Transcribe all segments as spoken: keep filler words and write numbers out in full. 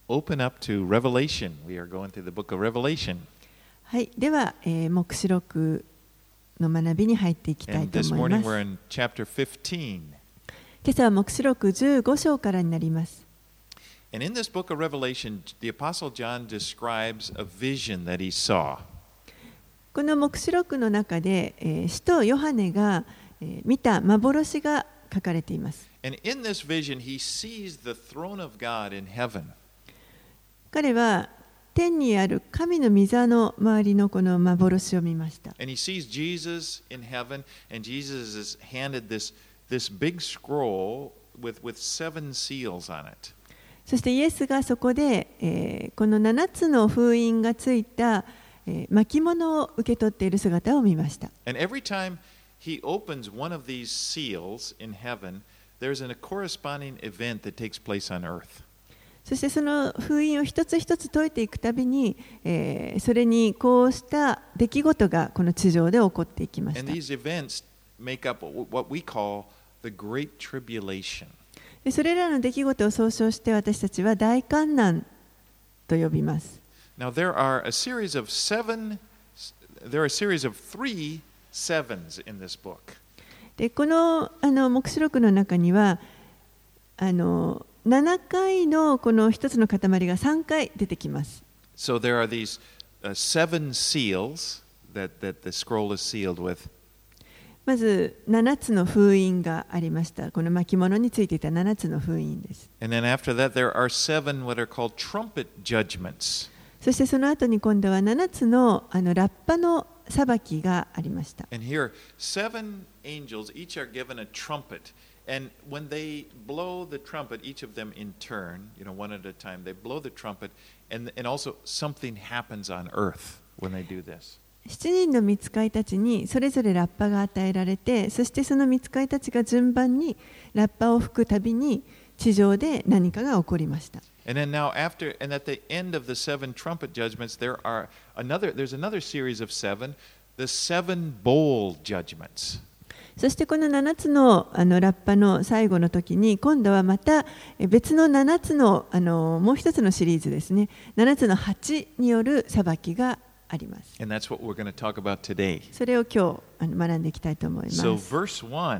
open up to Revelation. We are going through the book of Revelation. はい、では、えー、黙示録の学びに入っていきたい And と this 思いま morning す。 we're in chapter fifteen. 今朝は黙示録じゅうご章からになります。 And in this book of Revelation, the Apostle John describes a vision that he saw. この黙示録の中で、えー、使徒ヨハネが、えー、見た幻が書かれています。 And in this vision, he sees the throne of God in heaven. 彼は天にある神の御座の周りのこの幻を見ました。 And he sees Jesus in heaven, and Jesus is handed this, this big scroll with, with seven seals on it. そしてイエスがそこで、えー、このななつの封印がついた、えー、巻物を受け取っている姿を見ました。 And every time he opens one of these seals in heaven, there's a corresponding event that takes place on earth. そしてその封印を一つ一つ解いていくたびに、えー、それにこうした出来事がこの地上で起こっていきました。 And these events make up what we call the Great Tribulation. でそれらの出来事を総称して私たちは大観難と呼びます。 Now there are a series of seven, there are a series of three sevens in this book. でこのあの黙示録の中にはあのななかいのこの一つの塊がさんかい出てきます。 So there are these、uh, seven seals that, that the scroll is sealed with. まずななつの封印がありました。この巻物についていたななつの封印です。 And then after that there are seven what are called trumpet judgments. そしてその後に今度はななつのあのラッパの裁きがありました。 And here seven angels each are given a trumpet. And when they blow the trumpet, each of them in turn, you know, one at a time, they blow the trumpet, and, and also something happens on earth when they do this. しちにんの御使いたちにそれぞれラッパが与えられて、そしてその御使いたちが順番にラッパを吹くたびに地上で何かが起こりました。 And then now after, and at the end of the seven trumpet judgments, there are another, there's another series of seven, the seven bowl judgments. そしてこのななつのあのラッパの最後の時に今度はまた別のななつのあのもう一つのシリーズですね、ななつの鉢による裁きがあります。 And that's what we're going to talk about today. それを今日あの学んでいきたいと思います。 So verse one.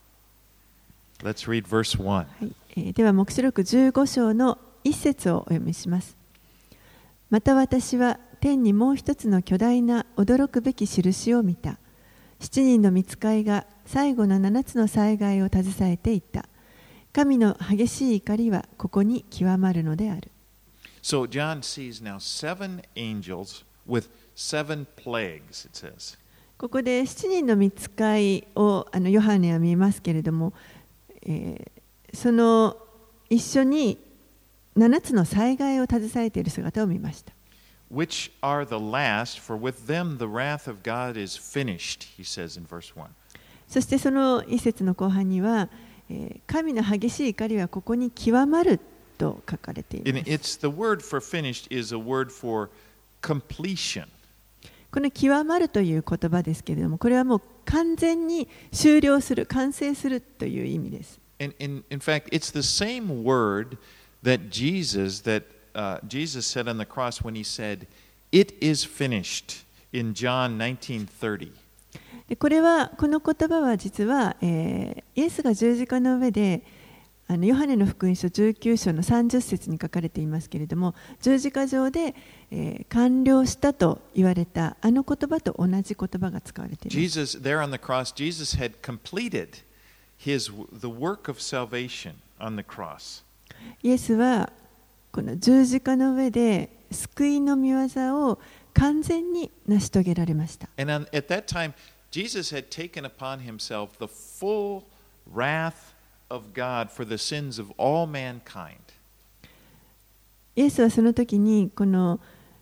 Let's read verse one. はい、えー、では黙示録じゅうご章の一節をお読みします。また私は天にもう一つの巨大な驚くべき印を見た。七人の御使いが最後の七つの災害を携えていった。神の激しい怒りはここに極まるのである。 So John sees now seven angels with seven plagues, it says. ここで七人の御使いをあのヨハネは見ますけれども、えー、その一緒に七つの災害を携えている姿を見ました。 Which are the last, for with them the wrath of God is finished, he says in verse one. そしてその一節の後半には、えー、神の激しい怒りはここに極まると書かれています。 And it's the word for finished is a word for completion. この極まるという言葉ですけれども、これはもう完全に終了する、完成するという意味です。 And in, in fact, it's the same word that Jesus, that Uh, Jesus said on the cross when he said, "It is finished" in John nineteen thirty. でこれはこの言葉は実は、えー、イエスが十字架の上であのヨハネの福音書じゅうきゅう章のさんじゅっ節に書かれていますけれども、十字架上で、えー、完了したと言われたあの言葉と同じ言葉が使われています。 Jesus, there on the cross, Jesus had completed his the work of salvation on the cross. イエスはこの十字架の上で救いの御業を完全に成し遂げられました。 And on, at that time, Jesus had taken upon himself the full wrath of God for the sins of all mankind. イエスはその時にこの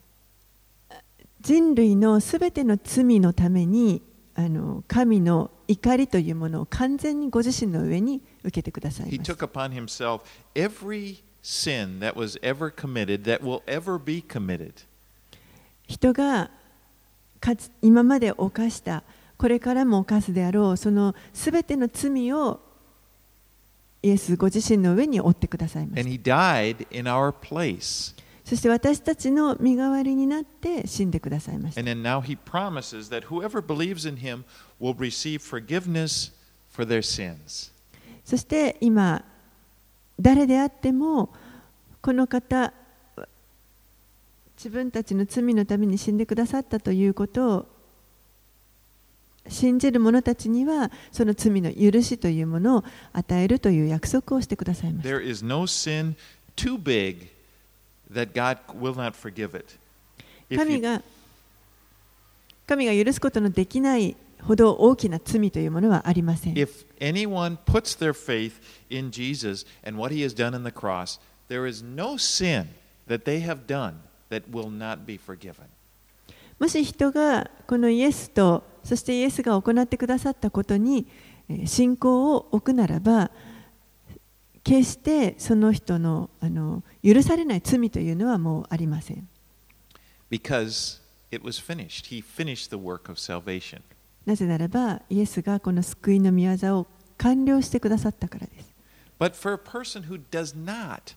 人類のすべての罪のためにあの神の怒りというものを完全にご自身の上に受けてください He ました。 took upon himself every sin that was ever committed, that will ever be committed. 人がかつ今まで犯した、これからも犯すであろう、そのすべての罪をイエスご自身の上に負ってくださいまし And た。 he died in our place. そして私たちの身代わりになって死んでくださいました。 And then now he promises that whoever believes in him will receive forgiveness for their sins. そして今、誰であってもこの方、自分たちの罪のために死んでくださったということを信じる者たちには、その罪の許しというものを与えるという約束をしてくださいました。 There is no sin too big that God will not forgive it. If 神 you, が神が許すことのできないほど大きな罪というものはありません。 if anyone puts their faith in Jesus and what he has done on the cross, there is no sin that they have done that will not be forgiven. もし人がこのイエスと、そしてイエスが行ってくださったことに信仰を置くならば、決してその人の、あの許されない罪というのはもうありません。 Because it was finished. He finished the work of salvation. なぜならば、イエスがこの救いの御業を完了してくださったからです。 But for a person who does not,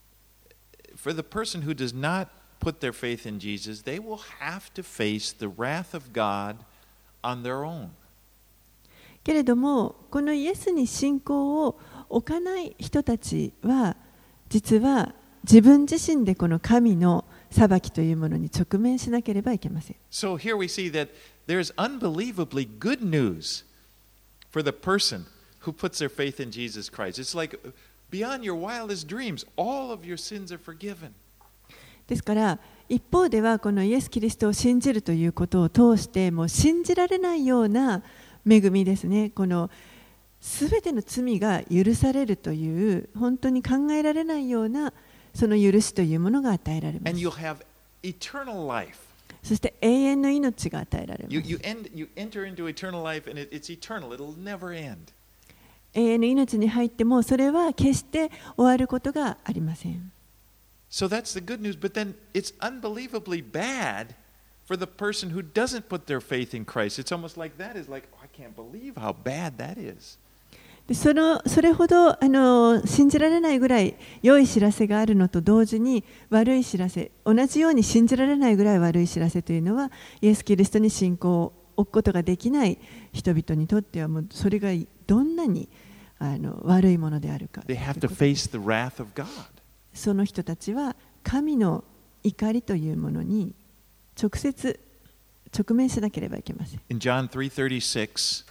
for the person who does not put their faith in Jesus, they will have to face the wrath of God on their own. けれども、このイエスに信仰を置かない人たちは、実は自分自身でこの神の裁きというものに直面しなければいけません。 So here we see that there's unbelievably good news for the person who puts their faith in Jesus Christ. It's like beyond your wildest dreams, all of your sins are forgiven. ですから一方ではこのイエス・キリストを信じるということを通してもう信じられないような恵みですね。このすべての罪が許されるという本当に考えられないようなその許しというものが与えられま And す。 you'll have eternal life. そして永遠の命が与えられます。 You, you, end, you enter into eternal life and it, it's eternal. It'll never end. 永遠の命に入ってもそれは決して終わることがありません。 So that's the good news. But then it's unbelievably bad for the person who doesn't put their faith in Christ. It's almost like that is like, oh, I can't believe how bad that is. でそのそれほどあの信じられないぐらい良い知らせがあるのと同時に悪い知らせ、同じように信じられないぐらい悪い知らせというのは、イエス・キリストに信仰を置くことができない人々にとってはもうそれがどんなにあの悪いものであるか。 They have to face the wrath of God. その人たちは神の怒りというものに直接直面しなければいけません。 In John three thirty-six,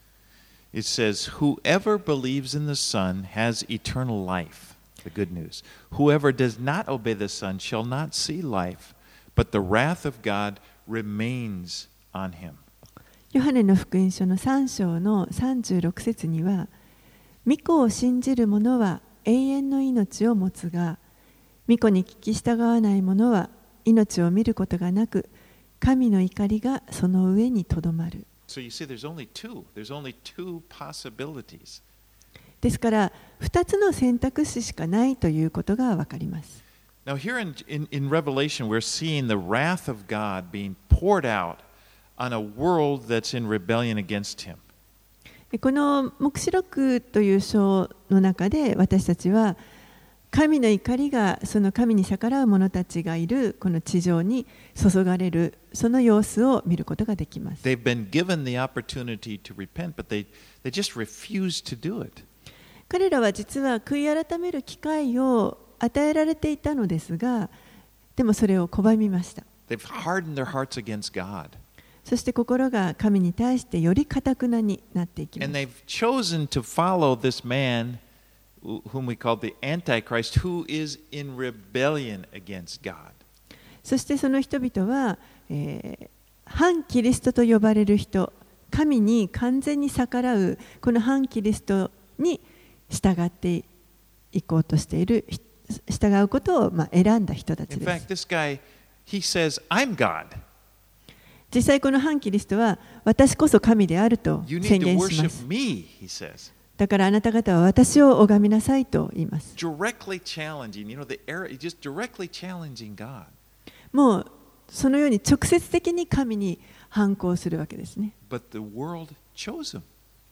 it says, whoever believes in the Son has eternal life. The good news. Whoever does not obey the Son shall not see life, but the wrath of God remains on him. ヨハネの福音書のさん章のさんじゅうろく節には、御子を信じる者は永遠の命を持つが、御子に聞き従わない者は命を見ることがなく、神の怒りがその上にとどまる。 So you see, there's only two. There's only two possibilities. ですからふたつの選択肢しかないということがわかります。 Now here in, in, in Revelation, we're seeing the wrath of God being poured out on a world that's in rebellion against him. この黙示録という章の中で私たちは神の怒りがその神に逆らう者たちがいるこの地上に注がれるその様子を見ることができます。 They've been given the opportunity to repent, but they, they just refuse to do it. 彼らは実は悔い改める機会を与えられていたのですが、でもそれを拒みました。 They've hardened their hearts against God. そして心が神に対してより堅くなになっていきま And す。 they've chosen to follow this man whom we call the Antichrist, who is in rebellion against God. そしてその人々は、えー、反キリストと呼ばれる人、神に完全に逆らうこの反キリストに従っていこうとしている、従うことをまあ選んだ人たち In で fact, す。 this guy, he says, I'm God. 実際この反キリストは私こそ神であると You 宣 need to 言しま worship す。 me, he says. だからあなた方は私を拝みなさいと言います。 Directly challenging, you know, the error, just directly challenging God. もうそのように直接的に神に反抗するわけですね。 But the world chose him.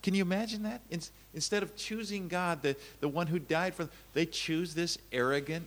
Can you imagine that? In, instead of choosing God, the, the one who died for them, they choose this arrogant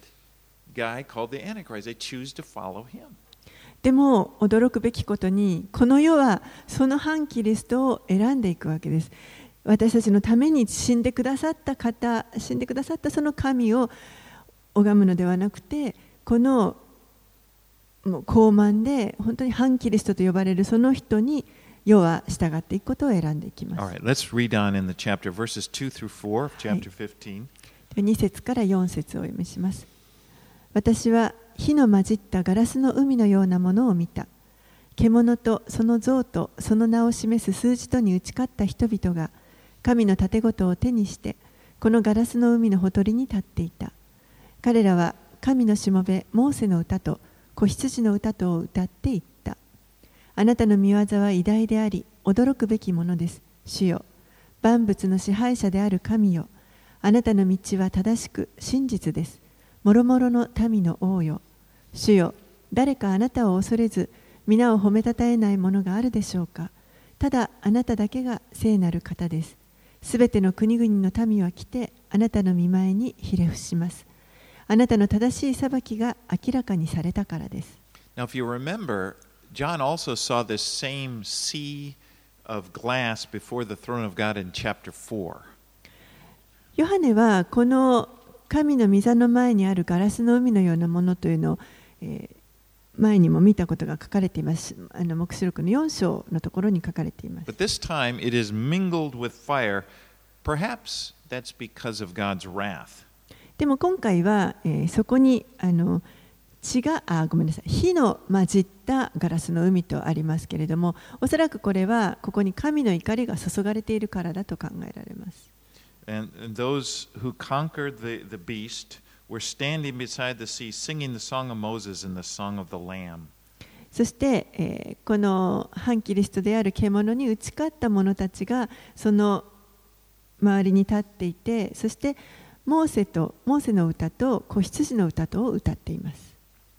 guy called the Antichrist. They choose to follow him. でも驚くべきことに、この世はその反キリストを選んでいくわけです。私たちのために死んでくださった方、死んでくださったその神を拝むのではなくて、このもう高慢で本当に反キリストと呼ばれるその人に世は従っていくことを選んでいきます。 All right, let's read on in the chapter, verses two through four of chapter fifteen. に節からよん節をお読みします。私は火の混じったガラスの海のようなものを見た。獣とその像とその名を示す数字とに打ち勝った人々が神の盾事を手にしてこのガラスの海のほとりに立っていた。彼らは神のしもべモーセの歌と子羊の歌とを歌っていった。あなたの御業は偉大であり驚くべきものです。主よ、万物の支配者である神よ、あなたの道は正しく真実です。もろもろの民の王よ、主よ、誰かあなたを恐れず皆を褒めたたえないものがあるでしょうか。ただあなただけが聖なる方です。すべての国々の民は来てあなたの御前にひれ伏します。あなたの正しい裁きが明らかにされたからです。 Now, if you remember, John also saw this same sea of glass before the throne of God in chapter four. ヨハネはこの神の御座の前にあるガラスの海のようなものというのを、えー、前にも見たことが書かれています。あの黙示録のよん章のところに書かれています。 But this time it is mingled with fire. Perhaps that's because of God's wrath. でも今回は、えー、そこにあの血があごめんなさい火の混じったガラスの海とありますけれども、おそらくこれはここに神の怒りが注がれているからだと考えられます。 And, and those who conquered the, the beast were standing beside the sea singing the song of Moses and the song of the Lamb. そして、えー、この反キリストである獣に打ち勝った者たちがその周りに立っていて、そしてモーセとモーセの歌と子羊の歌とを歌っています。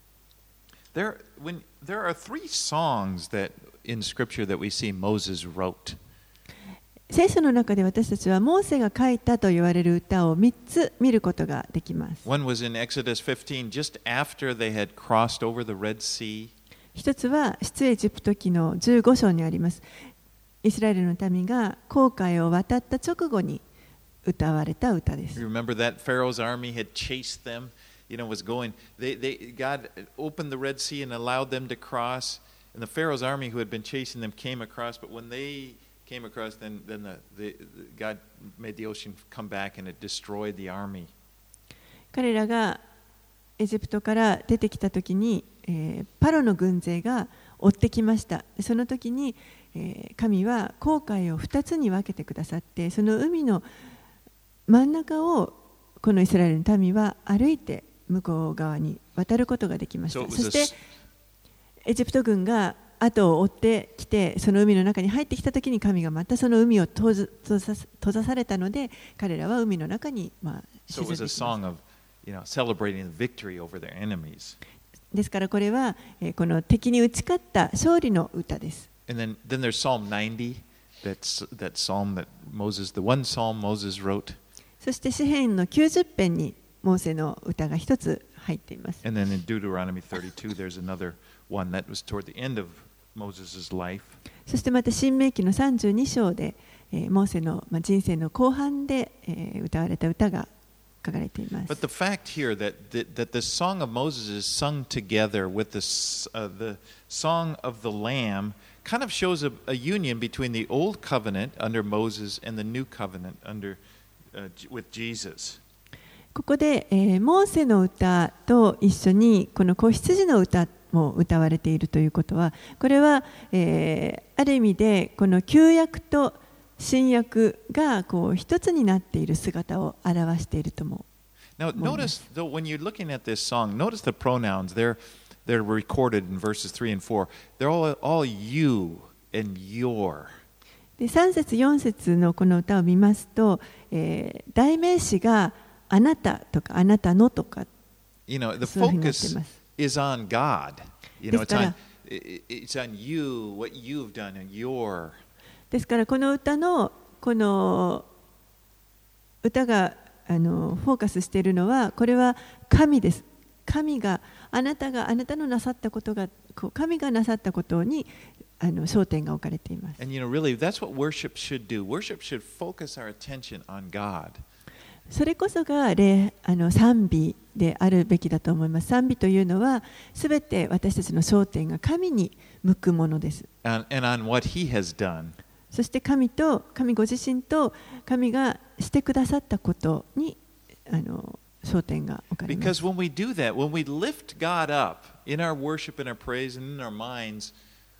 There, when, there are three songs that in Scripture that we see Moses wrote. 聖書の中で私たちはモーセが書いたと言われる歌をみっつ見ることができます。 One was in Exodus fifteen, just after they had crossed over the Red Sea. 一つは出エジプト記のじゅうご章にあります。イスラエルの民が紅海を渡った直後に歌われた歌です。 You remember that Pharaoh's army had chased them, you know, was going. They, they, God opened the Red Sea and allowed them to cross. And the Pharaoh's army who had been chasing them came across. But when they came across, then, then the, the, God made the ocean come back and it destroyed the army. 彼らがエジプトから出てきたときに、えー、パロの軍勢が追ってきました。その時に、えー、神は紅海をふたつに分けてくださって、その海の真ん中をこのイスラエルの民は歩いて向こう側に渡ることができました。So、そしてエジプト軍が後を追ってきてその海の中に入ってきたときに神がまたその海を閉ざ、閉ざ、閉ざされたので彼らは海の中に、まあ、沈んできました。 So You know, celebrating the victory over their enemies. ですからこれは、えー、この敵に打ち勝った勝利の歌です。 And then, then there's Psalm ninety, that's that psalm that Moses, the one psalm Moses wrote. そして詩編のきゅうじゅう編にモーセの歌が一つ入っています。 And then in Deuteronomy thirty-two, there's another one that was toward the end of Moses' life. そしてまた新明記のさんじゅうに章で、えー、モーセの、まあ、人生の後半で、えー、歌われた歌が書かれています。 But the fact here that that, that the song of Moses is sung together with the uh, the song of the Lamb kind of shows a, a union between the old covenant under Moses and the new covenant under uh, with Jesus. ここで、えー、モーセの歌と一緒にこの子羊の歌も歌われているということは、これは、えー、ある意味でこの旧約と新約がこう一つになっている姿を表しているとも。 Now, notice though when you're looking at this song, notice the pronouns. They're they're recorded in verses three and four. They're all all you and your. でさん節よん節のこの歌を見ますと、えー、代名詞があなたとかあなたのとか。 You know, the focus is on God. You know, it's on it's on you, what you've done, and your. ですからこの歌のこの歌があのフォーカスしているのは、これは神です。神があなたがあなたのなさったことが、神がなさったことにあの焦点が置かれています。 And you know, really, that's what worship should do. Worship should focus our attention on God. それこそが礼あの賛美であるべきだと思います。賛美というのは、すべて私たちの焦点が神に向くものです。 And, and on what He has done. そして神と、神ご自身と神がしてくださったことにあの焦点が置かれます。 Because when we do that, when we lift God up in our worship and our praise and in our minds,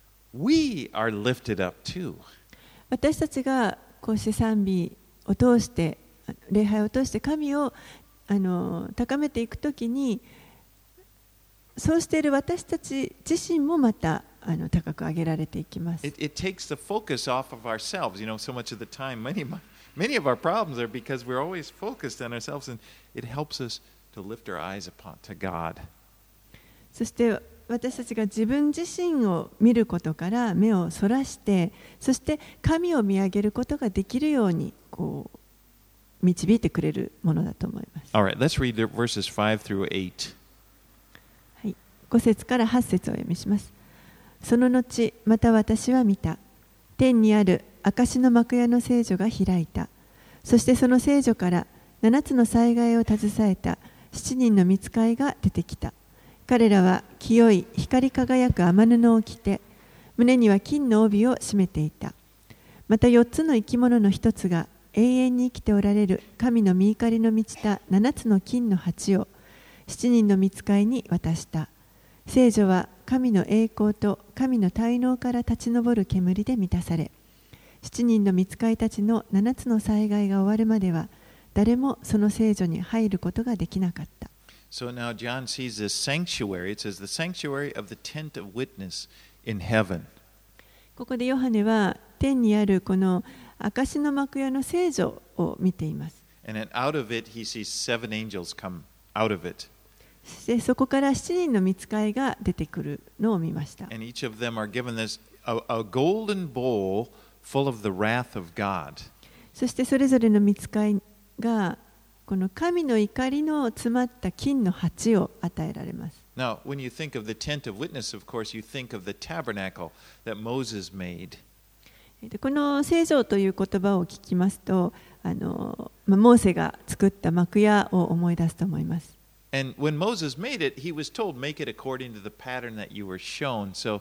we are lifted up too. 私たちがこうして賛美を通して、礼拝を通して神をあの高めていくときに、そうしている私たち自身もまたあの高く上げられていきます。 It, it takes the focus off of ourselves. You know, so much of the time, many, many of our problems are because we're always focused on ourselves, and it helps us to lift our eyes upon to God. そして私たちが自分自身を見ることから目をそらして、そして神を見上げることができるようにこう導いてくれるものだと思います。 All right, let's read the verses five through eight. はい、ご節からはち節をお読みします。その後、また私は見た。天にある証の幕屋の聖女が開いた。そしてその聖女から七つの災害を携えた七人の御使いが出てきた。彼らは清い光り輝く雨布を着て、胸には金の帯を締めていた。また四つの生き物の一つが永遠に生きておられる神の御怒りの満ちた七つの金の鉢を七人の御使いに渡した。聖女は神の栄光と神の大能から立ち上る煙で満たされ、七人の御使いたちの七つの災害が終わるまでは、誰もその聖女に入ることができなかった。 So now John sees this sanctuary. It says the sanctuary of the tent of witness in heaven. ここでヨハネは天にあるこの証の幕屋の聖女を見ています。 And then out of it he sees seven angels come out of it. でそこから七人の御使いが出てくるのを見ました。 And each of them are given this a, a golden bowl full of the wrath of God. そしてそれぞれの御使いがこの神の怒りの詰まった金の鉢を与えられます。 Now, when you think of the tent of witness, of course, you think of the tabernacle that Moses made. でこの聖女という言葉を聞きますと、あのまあ、モーセが作った幕屋を思い出すと思います。 And when Moses made it, he was told, make it according to the pattern that you were shown. So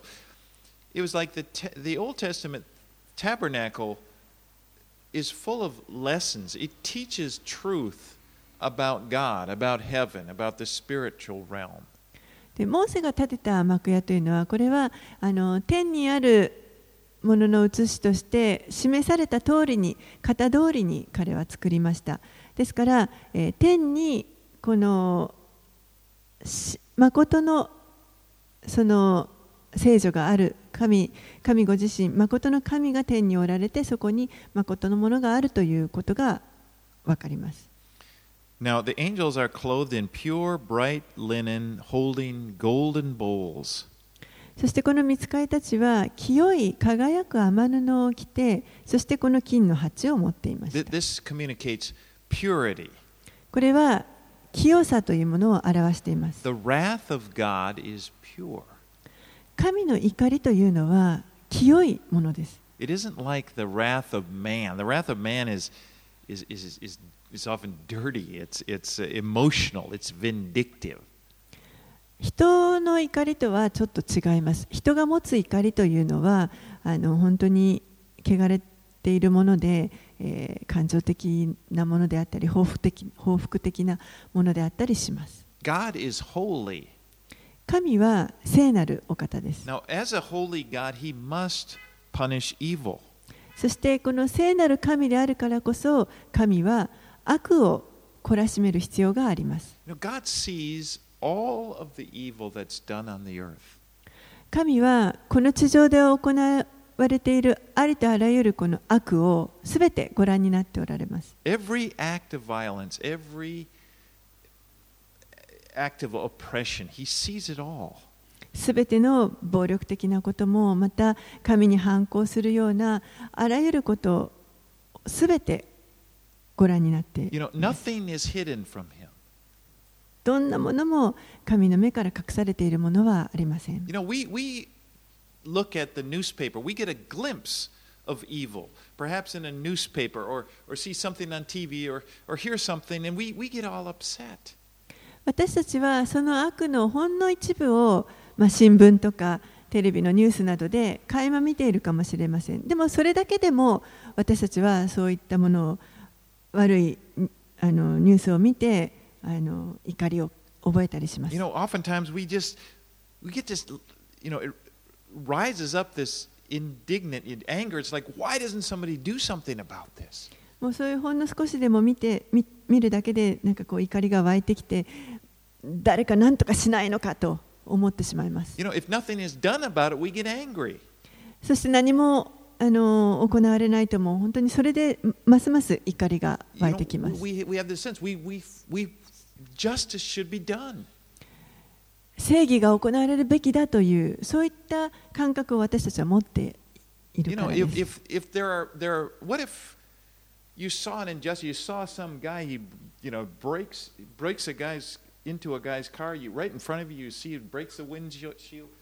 it was like the, te- the Old Testament tabernacle is full of lessons. It teaches truth about God, about heaven, about the spiritual realm. でモーセが建てた幕屋というのは、これはあの天にあるものの写しとして示された通りに、型通りに彼は作りました。ですから、えー、天にこの誠のその聖女がある神、神ご自身、誠の神が天におられて、そこに誠のものがあるということがわかります。 Now, the angels are clothed in pure, bright linen, holding golden bowls. そしてこの御使いたちは清い輝く雨布を着て、そしてこの金の鉢を持っていました。 This communicates purity. これは清さというものを表しています。 The wrath of God is pure. 神の怒りというのは清いものです。 It isn't like the wrath of man. The wrath of man is, is, is, is, is often dirty. It's, it's emotional. It's vindictive. 人の怒りとはちょっと違います。人が持つ怒りというのはあの本当に汚れているもので、えー、感情的なものであったり報復的、報復的なものであったりします。 God is holy. 神は聖なるお方です。 Now, as a holy God, he must punish evil. そしてこの聖なる神であるからこそ、神は悪を懲らしめる必要があります。 You know, God sees all of the evil that's done on the earth. 神はこの地上で行われているありとあらゆるこの悪をすべてご覧になっておられます。 Every act of violence, every act of oppression, he sees it all. すべての暴力的なことも、また神に反抗するようなあらゆることすべてご覧になってい You know, ます。 nothing is hidden from him. どんなものも神の目から隠されているものはありません。 You know, we, we look at the newspaper, we get a glimpse of evil, perhaps in a newspaper, or, or see something on T V, or, or hear something, and we, we get all upset. 私たちはその悪のほんの一部を、まあ、新聞とかテレビのニュースなどで垣間見ているかもしれません。でもそれだけでも私たちはそういったものを悪いあのニュースを見てあの怒りを覚えたりします。 You know, oftentimes we just, we get this, you know, it rises up this indignant anger. It's like, why doesn't somebody do something about this? もうそういうほんの少しでも見て 見, 見るだけでなんかこう怒りが湧いてきて、誰か何とかしないのかと思ってしまいます。 You know, if nothing is done about it, we get angry. そして何もあの行われないともう本当にそれでますます怒りが You 湧い know, てきます。 we, we have this sense, we, we, we, justice should be done. 正義が行われるべきだというそういった感覚を私たちは持ってい You るか know, らで if, す。 if, if there are, there are, what if you saw an injustice, you saw some guy, he, you know, breaks, breaks a guy's, into a guy's car, you, right in front of you, you see it breaks the windshield,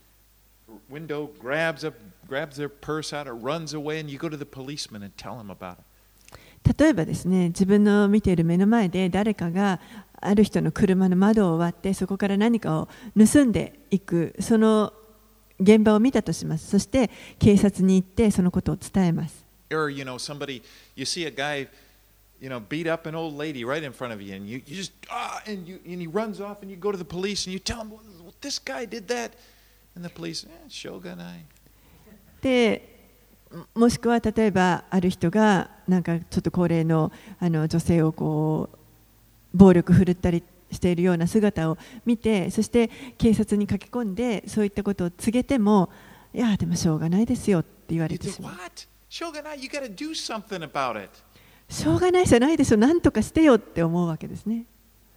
window, grabs, up, grabs their purse out, or runs away, and you go to the policeman and tell him about it. 例えばですね、自分の見ている目の前で誰かがある人の車の窓を割ってそこから何かを盗んでいく、その現場を見たとします。そして警察に行ってそのことを伝えます。 Or, you know, somebody, you see a guy, you know, beat up an old lady right in front of you, and you, you just, ah, and, you, and he runs off, and you go to the police, and you tell him, well, this guy did that. And the police, eh, しょうがない。 でもしくは例えばある人がなんかちょっと高齢のあの女性をこう暴力振るったりしているような姿を見て、そして警察に駆け込んでそういったことを告げても、いやでもしょうがないですよって言われ You て think, しまう。 what? しょうがない, you gotta do something about it. しょうがないじゃないでしょ、なんとかしてよって思うわけですね。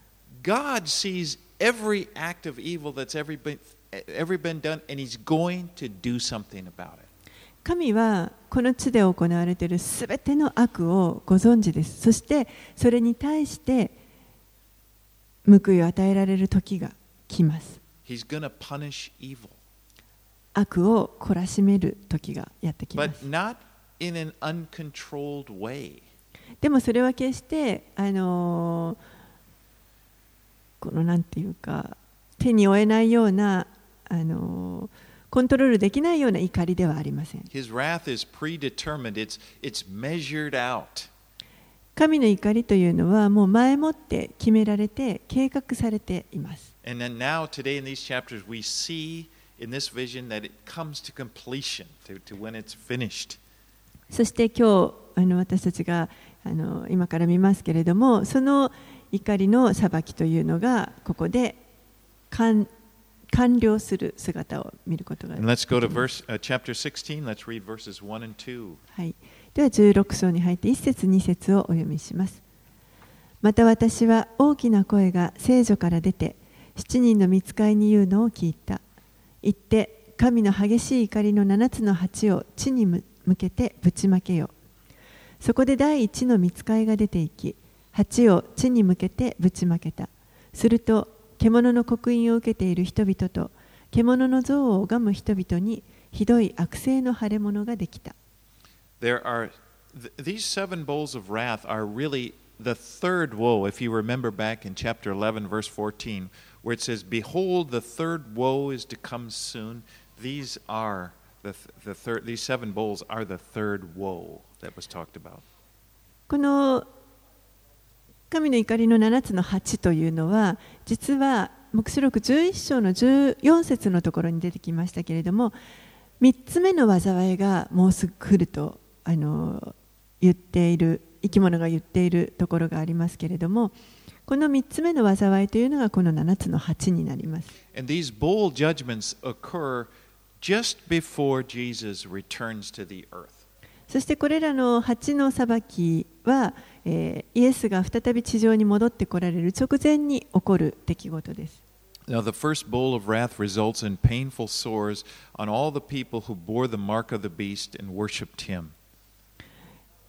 God sees every act of evil that's ever been, ever been done, and He's going to do something about it. 神はこの地で行われているすべての悪をご存知です。そしてそれに対して報いを与えられる時が来ます。 He's gonna punish evil, 悪を懲らしめる時がやってきま but す。 not in an uncontrolled way. でもそれは決してあのこのなんていうか手に負えないようなあのコントロールできないような怒りではありません。 His wrath is predetermined, it's, it's measured out. 神の怒りというのはもう前もって決められて計画されています。 And then now, today in these chapters, we see in this vision that it comes to completion, to, to when it's finished. そして今日あの私たちがあの今から見ますけれども、その怒りの裁きというのがここで完完了する姿を見ることができ And ま let's go to す。 verse, uh, chapter sixteen. Let's read verses one and two. はい、ではじゅうろく章に入っていち節に節をお読みします。また私は大きな声が聖女から出て七人の御使いに言うのを聞いた。言って神の激しい怒りの七つの鉢を地に向けてぶちまけよ。そこで第一の御使いが出て行き、鉢を地に向けてぶちまけた。すると獣の刻印を受けている人々と獣の像を拝む人々にひどい悪性の腫れ物ができた。 There are th- these seven bowls of wrath are really the third woe. If you remember back in chapter eleven, verse fourteen, where it says, "Behold, the third woe is to come soon." These are the th- the third. These seven bowls are the third woe that was talked about. この神の怒りの七つの鉢というのは実は黙示録じゅういっ章のじゅうよん節のところに出てきましたけれども、みっつめの災いがもうすぐ来るとあの言っている生き物が言っているところがありますけれども、このみっつめの災いというのがこの七つの鉢になります。 And these bowl judgments occur just before Jesus returns to the earth. そしてこれらの鉢の裁きは、えー、イエスが再び地上に戻ってこられる直前に起こる出来事です。 Now, the first bowl of wrath results in painful sores on all the people who bore the mark of the beast and worshipped him.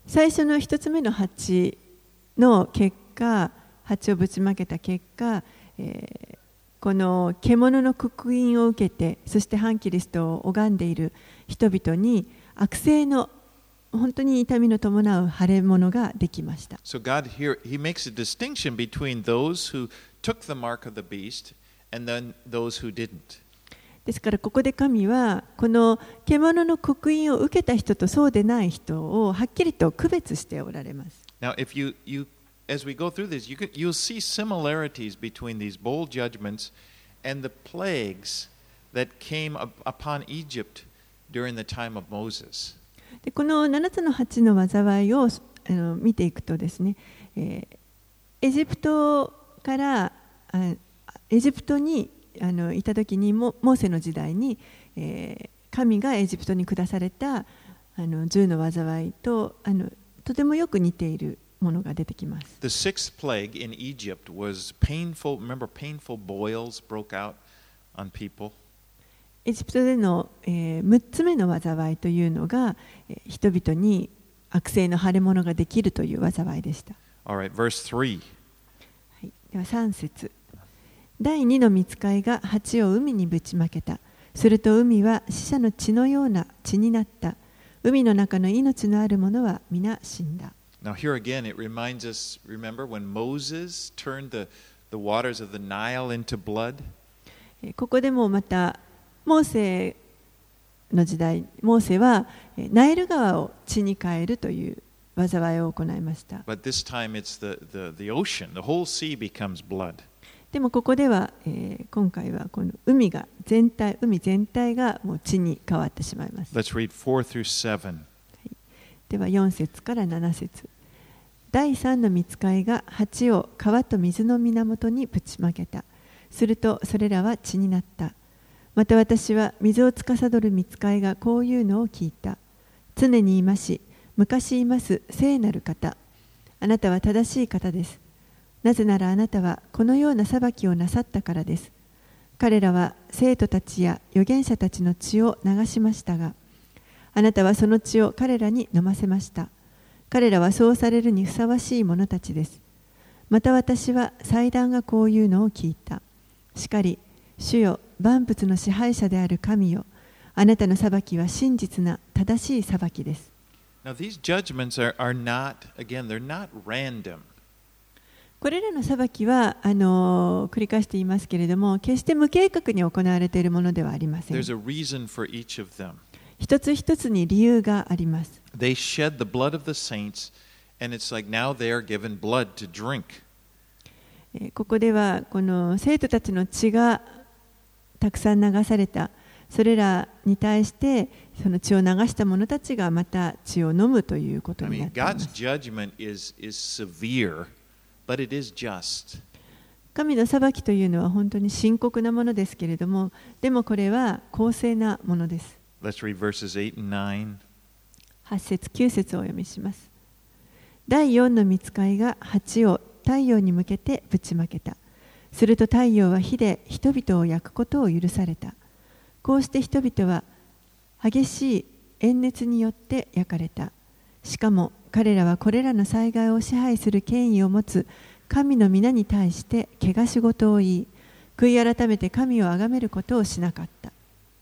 最初の一つ目の鉢の結果、鉢をぶちまけた結果、えー、この獣の刻印を受けて、そして反キリストを拝んでいる人々に悪性の本当に痛みの伴う腫れ物ができました。 So God here, He makes a distinction between those who took the mark of the beast and then those who didn't. ですからここで神はこの獣の刻印を受けた人とそうでない人をはっきりと区別しておられます。 Now, if you, you as we go through this, you can, you'll see similarities between these bowl judgments and the plagues that came upon Egypt during the time of Moses. でこのななつの鉢の災いをあの見ていくとですね、えー、エジプトからあエジプトにあのいた時にモーセの時代に、えー、神がエジプトに下されたあのじゅうの災いとあのとてもよく似ているものが出てきます。 The sixth plague in Egypt was painful. Remember, painful boils broke out on people. エジプトでの、えー、むっつめの災いというのが、えー、人々に悪性の腫れ物ができるという災いでした。 All right, verse three. はい、ではさん節。第二の御使いが鉢を海にぶちまけた。すると海は死者の血のような血になった。海の中の命のあるものは皆死んだ。 Now here again it reminds us, remember when Moses turned the, the waters of the Nile into blood? ここでもまたモーセの時代、モーセはナイル川を血に変えるという災いを行いました。 But this time it's the, the, the ocean, the whole sea becomes blood. でもここでは、えー、今回はこの海が全体、海全体がもう血に変わってしまいます。 Let's read four through seven. ではよん節からなな節。第三の御使いが鉢を川と水の源にぶちまけた。するとそれらは血になった。また私は水を司る御使いがこういうのを聞いた。常にいまし、昔います聖なる方。あなたは正しい方です。なぜならあなたはこのような裁きをなさったからです。彼らは生徒たちや預言者たちの血を流しましたが、あなたはその血を彼らに飲ませました。彼らはそうされるにふさわしい者たちです。また私は祭壇がこういうのを聞いた。しかり、主よ、万物の支配者である神よ、あなたの裁きは真実な正しい裁きです。 Now these judgments are, are not, again, they're not random. これらの裁きはあの繰り返して言いますけれども、決して無計画に行われているものではありません。 There's a reason for each of them. 一つ一つに理由があります。 They shed the blood of the saints, and it's like now they are given blood to drink. ここではこの生徒たちの血がたくさん流された。それらに対してその血を流した者たちがまた血を飲むということになっています。 I mean, God's judgment is, is severe, but it is just. 神の裁きというのは本当に深刻なものですけれども、でもこれは公正なものです。 Let's read verses eight and nine. はち節きゅう節をお読みします。第四の御使いが鉢を太陽に向けてぶちまけた。すると太陽は火で人々を焼くことを許された。こうして人々は激しい炎熱によって焼かれた。しかも彼らはこれらの災害を支配する権威を持つ神の皆に対して汚し事を言い、悔い改めて神を崇めることをしなかった。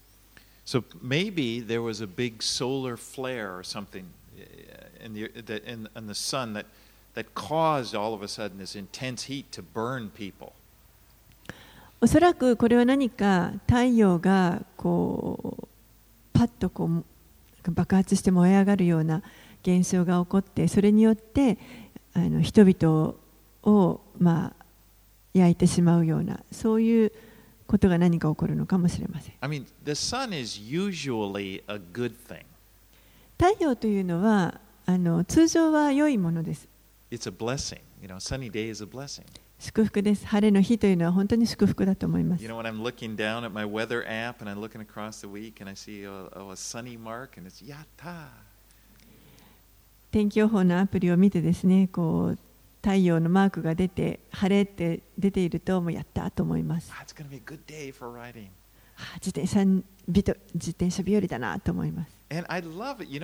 So maybe there was a big solar flare or something in the, in, in the sun that, that caused all of a sudden this intense heat to burn people. おそらくこれは何か太陽がこうパッとこう爆発して燃え上がるような現象が起こって、それによってあの人々をまあ焼いてしまうような、そういうことが何か起こるのかもしれません。 I mean, the sun is usually a good thing. 太陽というのはあの通常は良いものです。 It's a blessing. You know, sunny day is a blessing. 祝福です。晴れの日というのは本当に祝福だと思います。 You know, when I'm looking down at my weather app and I'm looking across the week and I see a, a sunny mark and it's yatta. 天気予報のアプリを見てですね、こう太陽のマークが出て晴れって出ているともうやったと思います。 It's going to be a good day for riding. 自転車日と自転車日和だなと思います。 And I love it. You know,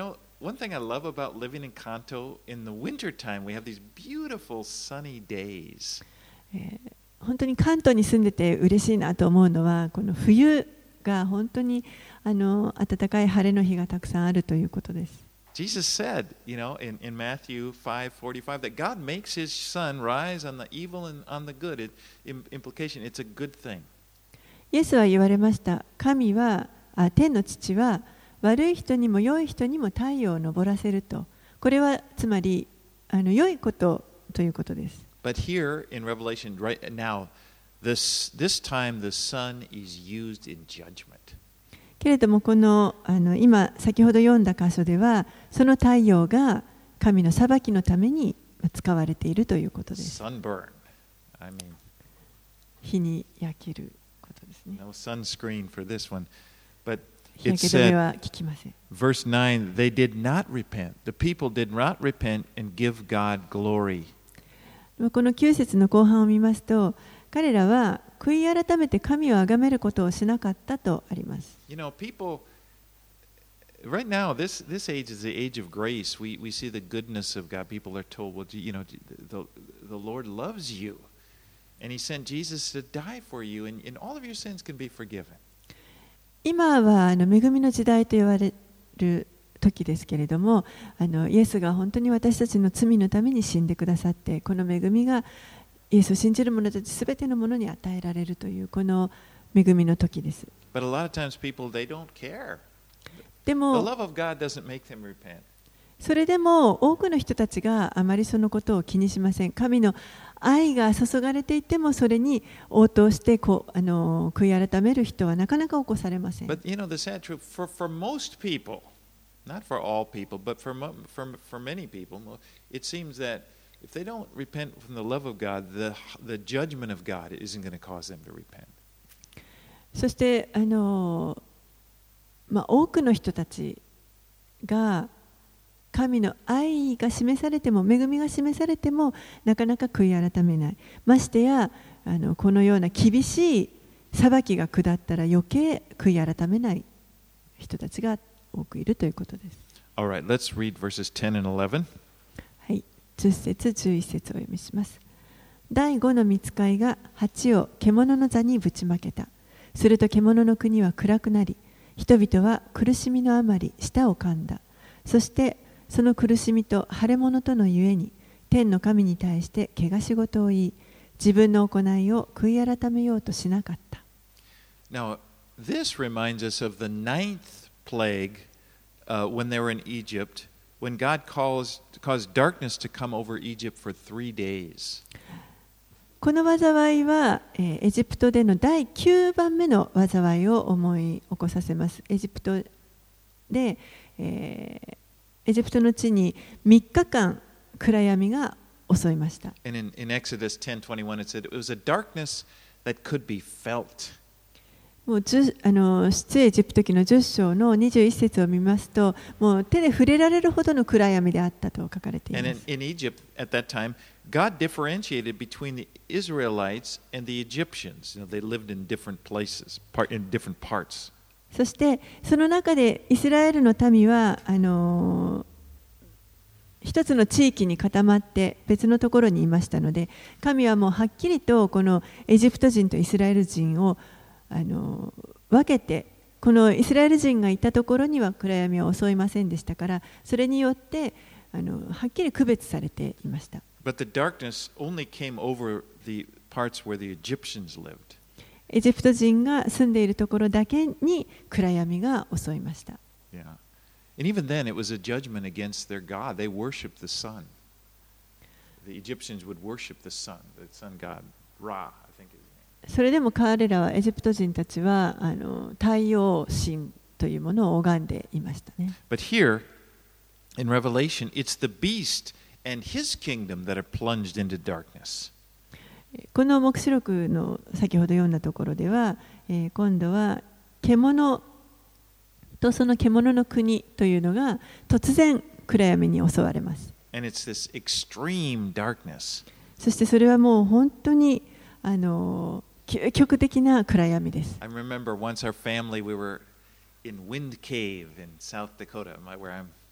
one thing I love about living in Kanto, in the wintertime, we have these beautiful sunny days. えー本当に関東に住んでて嬉しいなと思うのは、この冬が本当にあの暖かい晴れの日がたくさんあるということです。 Jesus said, you know, in, in Matthew five forty-five, that God makes his sun rise on the evil and on the good. It, implication, it's a good thing. イエスは言われました。神は、あ、天の父は悪い人にも良い人にも太陽を昇らせると。これはつまりあの良いことということです。 But here in Revelation, right now, this, this time the sun is used in judgment. けれどもこの、あの今先ほど読んだ箇所ではその太陽が神の裁きのために使われているということです。 Sunburn. I mean, 日に焼けることですね。 no sunscreen for this one. But 日 it 焼け止めは said, 効きません。 verse nine, they did not repent. The people did not repent and give God glory. このきゅう節の後半を見ますと、彼らは悔い改めて神を崇めることをしなかったとあります。 You know, people, right now, this, this age is the age of grace. We, we see the goodness of God. People are told, well, you know, the, the Lord loves you. And he sent Jesus to die for you, and, and all of your sins can be forgiven. 今はあの恵みの時代と言われる時ですけれども、あのイエスが本当に私たちの罪のために死んでくださって、この恵みがイエスを信じる者たちすべてのものに与えられるというこの恵みの時です。 But a lot of times people, they don't care. で The も love of God doesn't make them repent. それでも多くの人たちがあまりそのことを気にしません。神の愛が注がれていてもそれに応答してこうあの悔い改める人はなかなか起こされません。 But you know, the sad truth, for, for most people, not for all people, but for, mo- for, for many people, it seems that if they don't repent from the love of God, the, the judgment of God isn't going to cause them to repent. そしてあの、まあ、多くの人たちが神の愛が示されても恵みが示されてもなかなか悔い改めない。ましてやあのこのような厳しい裁きが下ったら余計悔い改めない人たちが多くいるということです。 All right, let's read verses ten and eleven. はい、じゅっ節じゅういっ節をお読みします。第五の御使いが鉢を獣の座にぶちまけた。すると獣の国は暗くなり、人々は苦しみのあまり舌を噛んだ。そしてその苦しみと腫れ物とのゆえに、天の神に対して汚し事を言い、自分の行いを悔い改めようとしなかった。 Now, this reminds us of the ninth plague uh, when they were in Egypt, when God caused, caused darkness to come over Egypt for three days. この災いは、えー、エジプトでのだいきゅうばんめの災いを思い起こさせます。エジプトで、えー、エジプトの地にみっかかん暗闇が襲いました。 And in, in Exodus ten twenty-one, it said it was a darkness that could be felt. もうあの出エジプト記のじゅっ章のにじゅういち節を見ますと、もう手で触れられるほどの暗闇であったと書かれています。 And in, in Egypt at that time, God differentiated between the Israelites and the Egyptians. You know, they lived in different places, part, in different parts. そしてその中でイスラエルの民はあの一つの地域に固まって別のところにいましたので、神はもうはっきりとこのエジプト人とイスラエル人をあの分けて、このイスラエル人がいたところには暗闇は襲いませんでしたから、それによってあのはっきり区別されていました。 But the darkness only came over the parts where the Egyptians lived. エジプト人が住んでいるところだけに暗闇が襲いました。 Yeah. And even then, it was a judgment against their God. They worshipped the sun. The Egyptians would worship the sun, the sun god, Ra, I think his name. それでも彼らはエジプト人たちはあの太陽神というものを拝んでいましたね。 But here, in Revelation, it's the beast and his kingdom that are plunged into darkness. この黙示録の先ほど読んだところでは、えー、今度は獣とその獣の国というのが突然暗闇に襲われます。 And it's this extreme darkness. そしてそれはもう本当にあの究極的な暗闇です。 I remember once our family, we were in Wind Cave in South Dakota, where I'm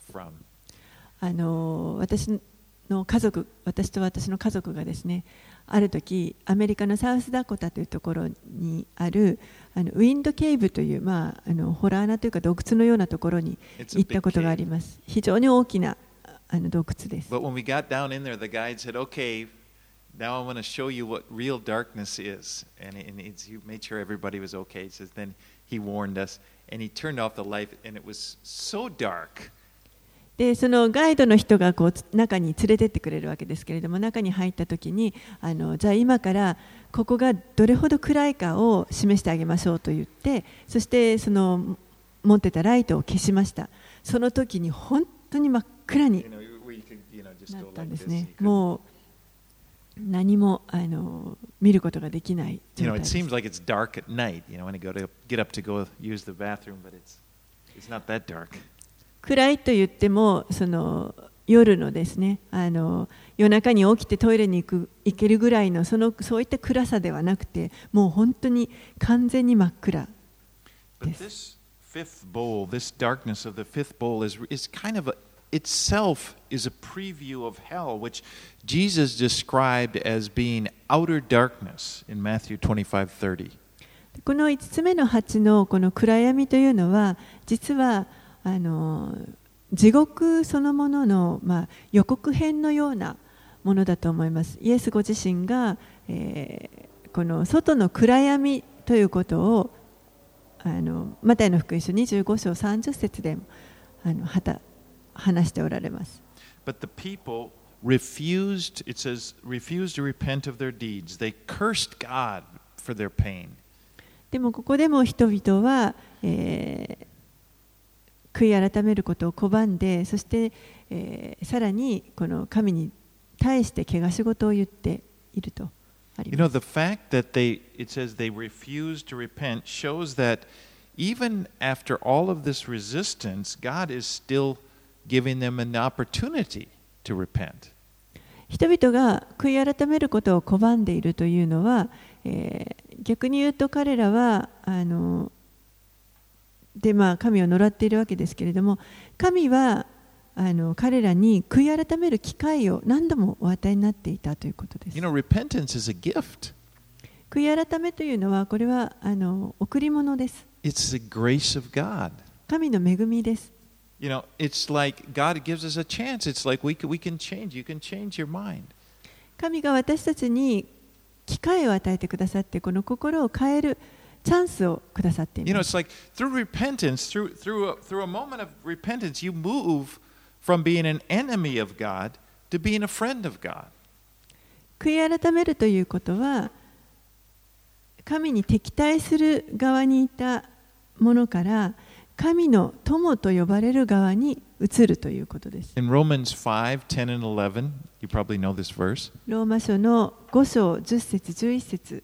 from. あの私の家族、私と私の家族がですね、ある時アメリカのサウスダコタというところにあるあのウィンドケーブという、まあ、あのホラー穴というか洞窟のようなところに行ったことがあります。非常に大きなあの洞窟です。 But when we got down in there, the guide said, "Okay, now I'm going to show you what real darkness is." And, and it's, he made sure everybody was okay. He says, then he warned us, and he turned off the light, and it was so dark. でそのガイドの人がこう中に連れてってくれるわけですけれども、中に入った時にあのじゃあ今からここがどれほど暗いかを示してあげましょうと言って、そしてその持ってたライトを消しました。その時に本当に真っ暗になったんですね。もう何もあの見ることができない状態です。 You know, it seems like it's dark at night, you know, when you go to get up to go use the bathroom, but it's it's not that dark. 暗いと言ってもその夜のですね、あの夜中に起きてトイレに行く行けるぐらいのそのそういった暗さではなくて、もう本当に完全に真っ暗です。 But this fifth bowl, this darkness of the fifth bowl is is kind of a, itself is a preview of hell, which Jesus described as being outer darkness in Matthew twenty-five thirty. この五つ目の鉢のこの暗闇というのは実はあの地獄そのものの、まあ、予告編のようなものだと思います。イエスご自身が、えー、この外の暗闇ということをあのマタイの福音書にじゅうご章さんじゅっ節であのはた話しておられます。 But the people refused, it says, refused to repent of their deeds. They cursed God for their pain. でもここでも人々は、えー悔い改めることを拒んで、そして、えー、さらにこの神に対して汚し事を言っているとあります。 You know, the fact that they, it says they refused to repent shows that even after all of this resistance, God is still giving them an opportunity to repent. 人々が悔い改めることを拒んでいるというのは、えー、逆に言うと彼らはあのでまあ、神を呪っているわけですけれども、神はあの彼らに悔い改める機会を何度もお与えになっていたということです。 You know, repentance is a gift. 悔い改めというのはこれはあの贈り物です。 It's the grace of God. 神の恵みです。 You know, it's like God gives us a chance. It's like we can, we can change. You can change your mind. 神が私たちに機会を与えてくださって、この心を変えるチャンスをくださっています。 You know, it's like through repentance, through through a, through a moment of repentance, you move from being an enemy of God to being a friend of God. 悔い改めるということは、神に敵対する側にいたものから神の友と呼ばれる側に移るということです。 In Romans five, ten and eleven, you probably know this verse. ローマ書のご章じゅっ節じゅういち節。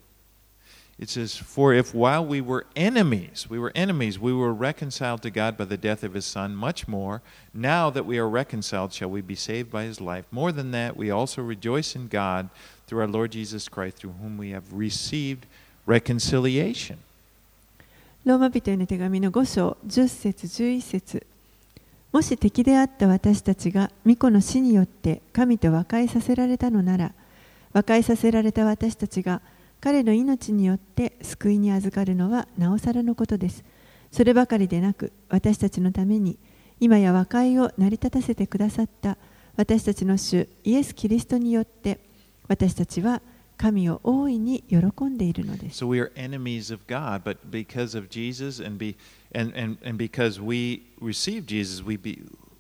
It says, "For if while we were enemies, we were enemies, we were reconciled to God by the death of His Son, much more, now that we are reconciled, shall we be saved by His life. More than that, we also rejoice in God through our Lord Jesus Christ, through whom we have received reconciliation." ローマ人への手紙のご章じゅっ節じゅういち節。もし敵であった私たちが御子の死によって神と和解させられたのなら、和解させられた私たちが彼の命によって救いに預かるのはなおさらのことです。そればかりでなく、私たちのために今や和解を成り立たせてくださった私たちの主イエス・キリストによって私たちは神を大いに喜んでいるのです。 So we are enemies of God, but because of Jesus and be and and and because we receive Jesus, we be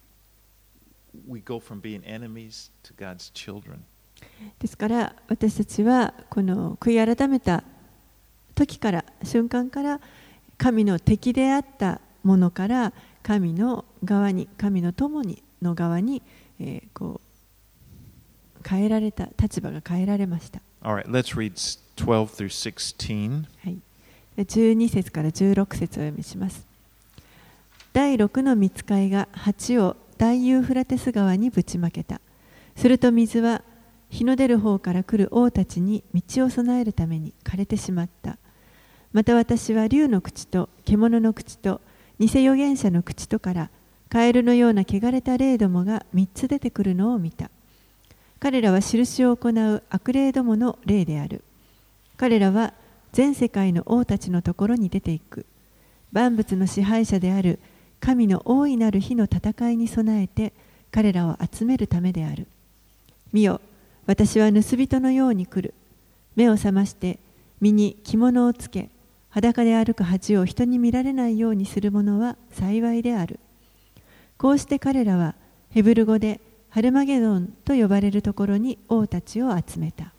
we go from being enemies to God's children. ですから私たちはこの悔い改めた時から瞬間から神の敵であったものから神の側に神の友にの側に、えー、こう変えられた立場が変えられました。 All right, let's read twelve through sixteen. はい。じゅうに節からじゅうろく節をお読みします。第六の御使いが鉢を大ユーフラテス川にぶちまけた。すると水は日の出る方から来る王たちに道を備えるために枯れてしまった。また私は竜の口と獣の口と偽預言者の口とからカエルのような汚れた霊どもがみっつ出てくるのを見た。彼らは印を行う悪霊どもの霊である。彼らは全世界の王たちのところに出ていく。万物の支配者である神の大いなる日の戦いに備えて彼らを集めるためである。見よ、私は盗人のように来る。目を覚まして身に着物をつけ、裸で歩く恥を人に見られないようにする者は幸いである。こうして彼らはヘブル語でハルマゲドンと呼ばれるところに王たちを集めた。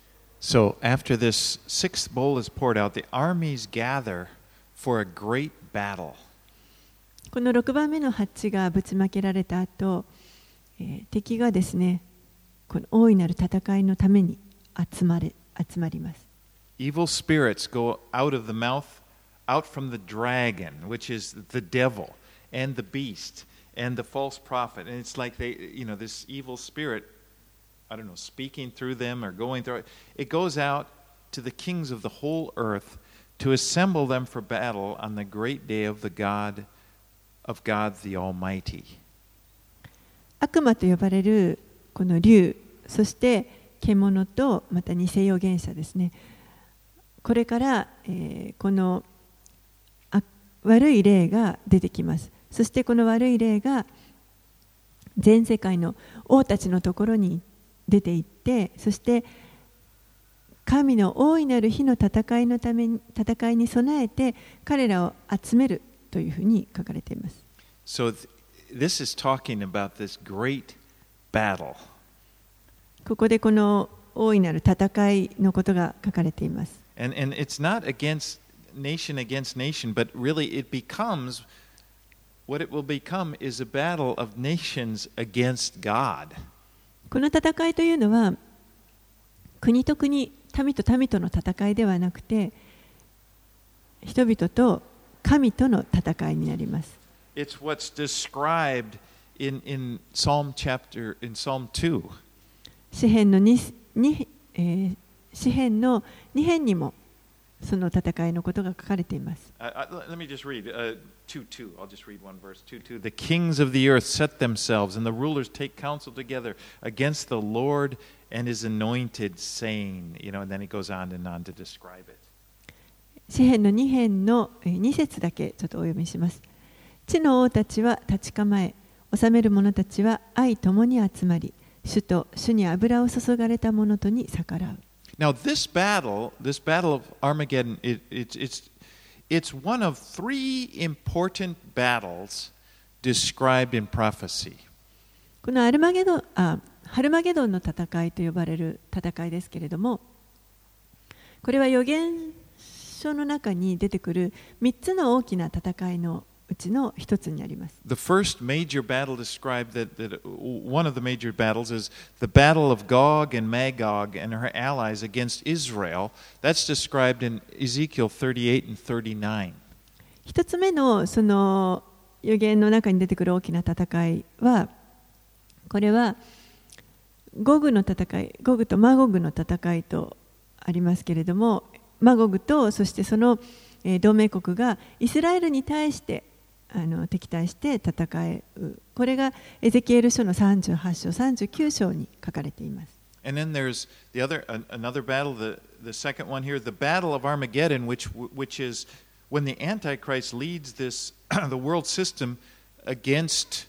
So after this sixth bowl is poured out, the armies gather for a great battle. このろくばんめのハッチがぶちまけられた後、えー、敵がですね、この大いなる戦いのために集まれ、集まります。 Evil spirits go out of the mouth, out from the dragon, which is the devil, and the beast, and the false prophet. And it's like they, you know, this evil spirit, I don't know, speaking through them or going through it. It goes out to the kings of the whole earth to assemble them for battle on the great day of the God, of God the Almighty. 悪魔と呼ばれるこの竜、そして獣とまた偽預言者ですね。これから、えー、この悪い霊が出てきます。そしてこの悪い霊が全世界の王たちのところに出て行って、そして神の大いなる日の戦いのために戦いに備えて彼らを集めるというふうに書かれています。 So this is talking about this great battle. ここでこの大いなる戦いのことが書かれています。 And, and it's not against nation against nation, but really it becomes, what it will become is a battle of nations against God. この戦いというのは、国と国、民と民との戦いではなくて、人々と神との戦いになります。 It's what's described in, in Psalm chapter, in Psalm two. 詩編の 2, 2、えー詩編のに編にもその戦いのことが書かれています。 Uh, uh, let me just read uh, two two. I'll just read one verse. two two. The kings of the earth set themselves, and the rulers take counsel together against the Lord and His anointed, saying, you know, and then it goes on and on to describe it. 詩編のに編のに節だけちょっとお読みします。地の王たちは立ち構え、治める者たちは愛ともに集まり、主と主に油を注がれた者とに逆らう。 Now, this battle, this battle of Armageddon, it, it, it's, it's one of three important battles described in prophecy. このアルマゲドン、あ、ハルマゲドンの戦いと呼ばれる戦いですけれども、これは預言書の中に出てくるみっつの大きな戦いのうちの一つになります。 The first major battle described that, that one of the major battles is the battle of Gog and Magog and her allies against Israel. That's described in Ezekiel thirty-eight and thirty-nine. 一つ目のその預言の中に出てくる大きな戦いは、これはゴグの戦い、ゴグとマゴグの戦いとありますけれども、マゴグとそしてその同盟国がイスラエルに対してあの敵対して戦う。これがエゼキエル書のさんじゅうはち章、さんじゅうきゅう章に書かれています。 And then there's the other, another battle, the, the second one here, the battle of Armageddon, which, which is when the Antichrist leads this, the world system against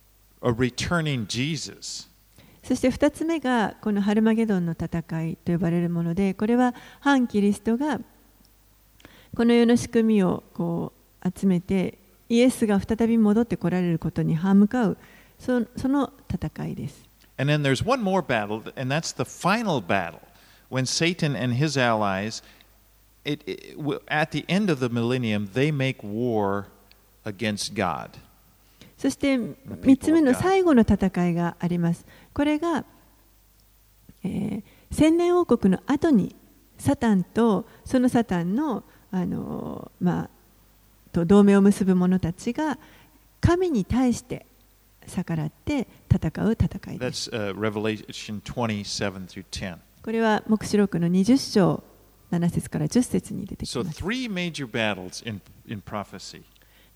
a returning Jesus. そしてふたつ目がこのハルマゲドンの戦いと呼ばれるもので、これは反キリストがこの世の仕組みをこう集めて、イエスが再び戻って来られることに歯向かう、そ, その戦いです。 And then there's one more battle, and that's the final battle, when Satan and his allies, it, it, at the end of the millennium, they make war against God. そしてみっつめの最後の戦いがあります。これが、えー、千年王国の後にサタンとそのサタンの、あのーまあ、と同盟を結ぶ者たちが神に対して逆らって戦う戦いです。 That's, uh, Revelation twenty-seven through ten. これは黙示録のにじゅう章なな節からじゅっ節に出てきます。 So three major battles in, in prophecy.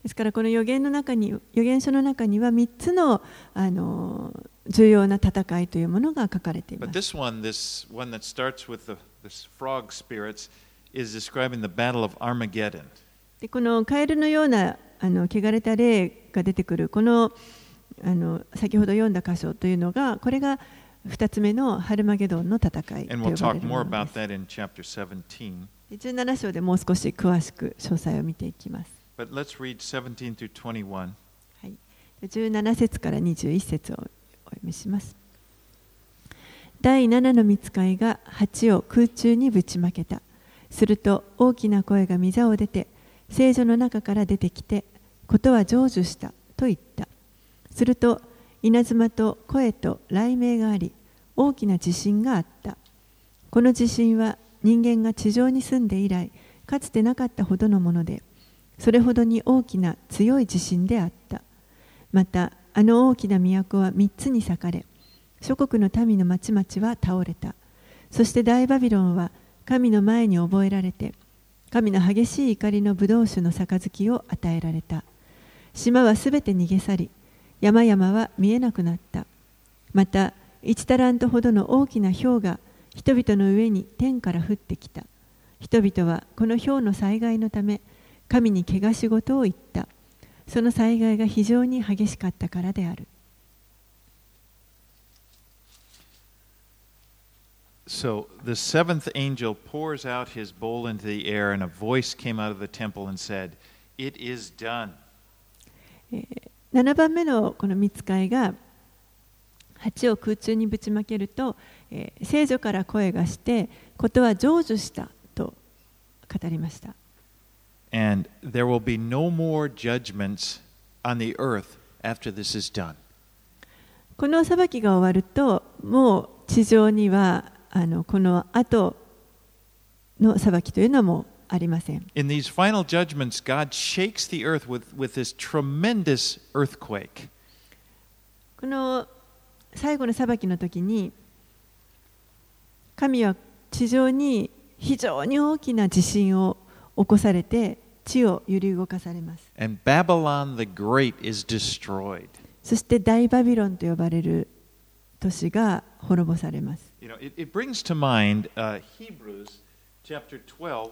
ですからこの預言の中に、預言書の中にはみっつの、あの重要な戦いというものが書かれていま But す。 this one, this one that starts with the this frog spirits, is describing the battle of Armageddon. でこのカエルのようなあの汚れた霊が出てくるこの、あの先ほど読んだ箇所というのが、これがふたつめのハルマゲドンの戦いと And 呼 we'll ばれ talk る more もの about です。 that in chapter seventeen. じゅうなな章でもう少し詳しく詳細を見ていきます。 But let's read seventeen through twenty-one. はい、じゅうなな節からにじゅういち節をお読みします。だいななの御使いが鉢を空中にぶちまけた。すると大きな声が御座を出て、聖所の中から出てきて、ことは成就したと言った。すると稲妻と声と雷鳴があり、大きな地震があった。この地震は人間が地上に住んで以来、かつてなかったほどのもので、それほどに大きな強い地震であった。また、あの大きな都は三つに裂かれ、諸国の民の町々は倒れた。そして大バビロンは神の前に覚えられて、神の激しい怒りの葡萄酒の杯を与えられた。島はすべて逃げ去り、山々は見えなくなった。また、一タラントほどの大きな雹が人々の上に天から降ってきた。人々はこの雹の災害のため、神に怪我し事を言った。その災害が非常に激しかったからである。 So the seventh angel pours out his bowl into the air, and a voice came out of the temple and said, "It is done." ななばんめのこの御使いが鉢を空中にぶちまけると、えー、聖女から声がして、ことは成就したと語りました。 And there will be no more judgments on the earth after this is done. この裁きが終わると、もう地上にはあのこの後の裁きというのはもうありません。 In these final judgments, God shakes the earth with, with this tremendous earthquake. この最後の裁きの時に、神は地上に非常に大きな地震を起こされて、地を揺り動かされます。 And Babylon the Great is destroyed. そして大バビロンと呼ばれる都市が滅ぼされます。 You know, it, it brings to mind uh, Hebrews chapter twelve,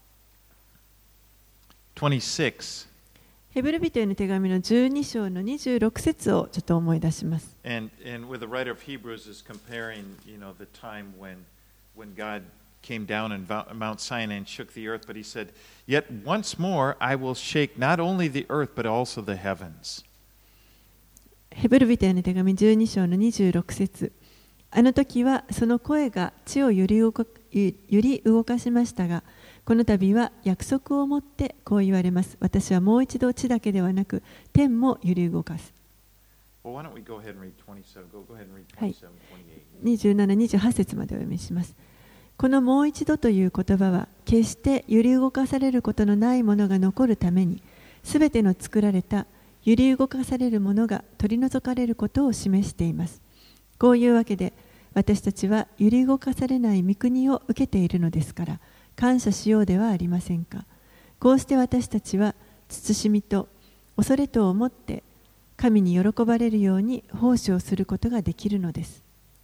twenty-six. ヘブル人への手紙のじゅうに章のにじゅうろく節をちょっと思い出します。 And, and where the writer of Hebrews is comparing, you know, the time when, when God came down on Mount Sinai and shook the earth, but he said, "Yet once more I will shake not only the earth, but also the heavens." ヘブル人への手紙じゅうに章のにじゅうろく節。あの時はその声が地を揺り動か、揺り動かしましたが、この度は約束をもってこう言われます。私はもう一度地だけではなく、天も揺り動かす。 Well, why don't we go ahead and read twenty-seven? Go, go ahead and read はい twenty-seven, twenty-eight. にじゅうなな、にじゅうはち節までお読みします。このもう一度という言葉は、決して揺り動かされることのないものが残るために、すべての作られた揺り動かされるものが取り除かれることを示しています。こういうわけで、私たちは揺り動かされない御国を受けているのですから、感謝しようではありませんか。こうして私たちは慎みと恐れとを持って神に喜ばれるように奉仕をすることができるのです。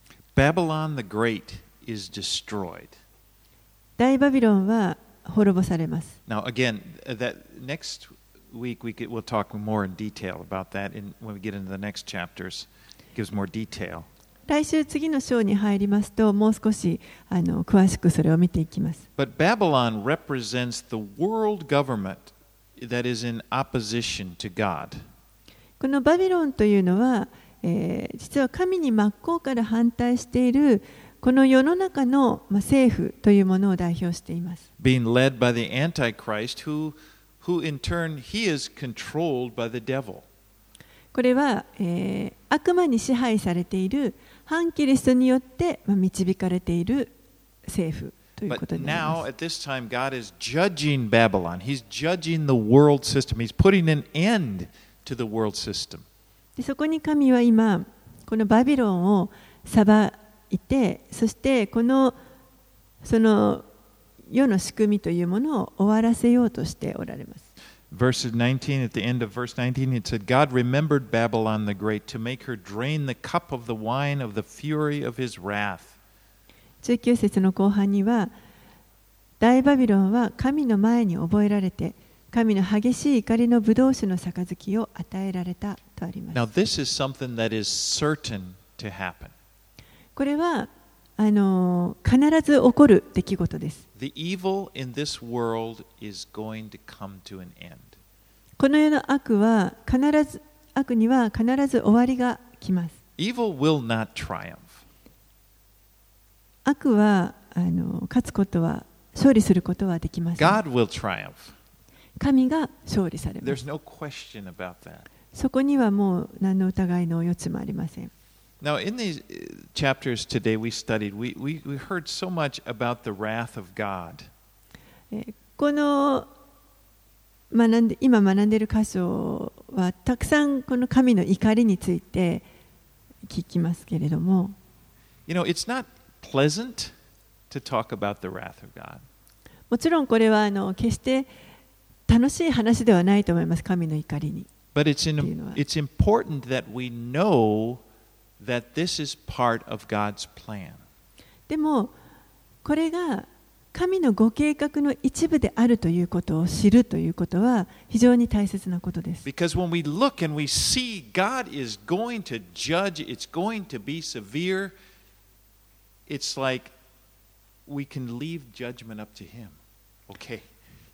Babylon the Great is destroyed. 大バビロンは滅ぼされます。 Now again, that next week we could, we'll talk more in detail about that in, when we get into the next chapters. It gives more detail. 来週次の章に入りますと、もう少しあの詳しくそれを見ていきます。 But Babylon represents the world government that is in opposition to God. このバビロンというのは、えー、実は神に真っ向から反対しているこの世の中の、まあ、政府というものを代表しています。 Being led by the Antichrist, who, who in turn he is controlled by the devil. これは、えー、悪魔に支配されている反キリストによって、まあ、導かれている政府ということになり Now, ます。 at this time, God is judging Babylon. He's judging the world system. He's putting an end to the world system. でそこに神は今、このバビロンを裁いて、そしてこのその世の仕組みというものを終わらせようとしておられます。 verse nineteen, at the end of verse nineteen, it said, God remembered Babylon the Great to make her drain the cup of the wine of the fury of his wrath. じゅうきゅう節の後半には、大バビロンは神の前に覚えられて、神の激しい怒りのブドウ酒の杯を与えられたとあります。 Now, this is something that is certain to happen. これはあの必ず起こる出来事です。 The evil in this world is going to come to an end. この世の悪は必ず悪には必ず終わりが来ます。 Evil will not triumph. 悪はあの勝つことは勝利することはできません。 God will triumph. 神が勝利されます。 There's no question about that. そこにはもう何の疑いの余地もありません。 Now, in these chapters today we studied, we, we, we heard so much about the wrath of God. この学んで今学んでいる箇所はたくさんこの神の怒りについて聞きますけれども、 You know, it's not pleasant to talk about the wrath of God. もちろんこれはあの決して楽しい話ではないと思います、神の怒りに。 But it's, in, it's important that we know that this is part of God's plan. でもこれが神のご計画の一部であるということを知るということは非常に大切なことです。 Because when we look and we see God is going to judge, it's going to be severe, it's like we can leave judgment up to Him. Okay,